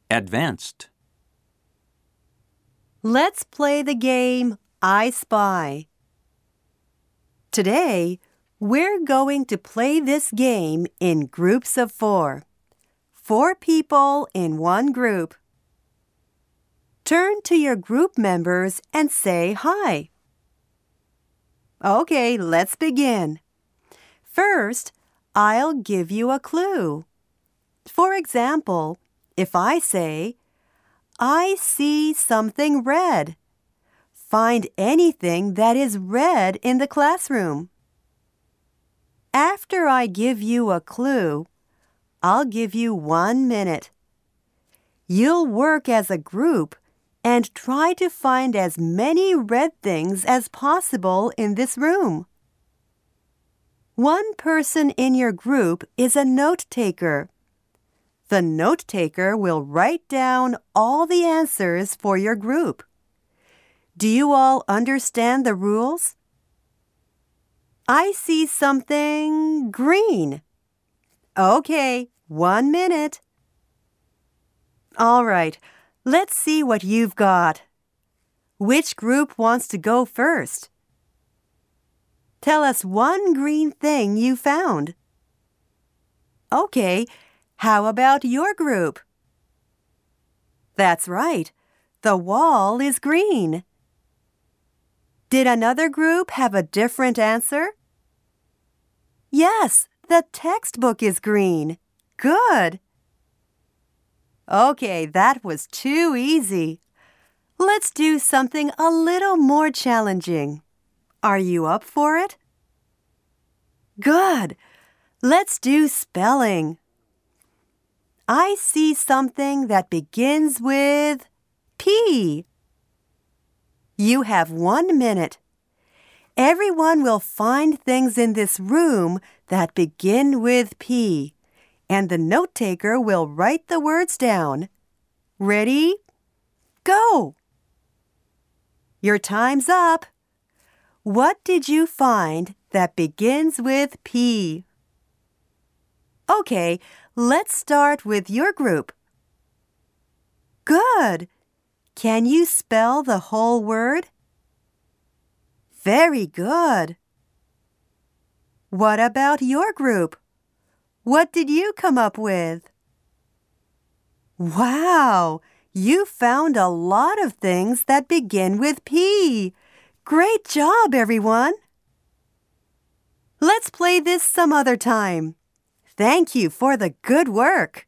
Advanced. Let's play the game I Spy. Today, we're going to play this game in groups of 4. 4 people in one group. Turn to your group members and say hi. Okay, let's begin. First, I'll give you a clue. For example, if I say, I see something red. Find anything that is red in the classroom. After I give you a clue, I'll give you 1 minute. You'll work as a group and try to find as many red things as possible in this room. One person in your group is a note-taker. The note-taker will write down all the answers for your group. Do you all understand the rules? I see something green. Okay, 1 minute. All right, let's see what you've got. Which group wants to go first? Tell us one green thing you found. Okay, how about your group? That's right, the wall is green. Did another group have a different answer? Yes, the textbook is green. Good. Okay, that was too easy. Let's do something a little more challenging. Are you up for it? Good. Let's do spelling. I see something that begins with P. You have 1 minute. Everyone will find things in this room that begin with P, and the note-taker will write the words down. Ready? Go! Your time's up. What did you find that begins with P? Okay, let's start with your group. Good! Can you spell the whole word? Very good. What about your group? What did you come up with? Wow! You found a lot of things that begin with P. Great job, everyone! Let's play this some other time. Thank you for the good work.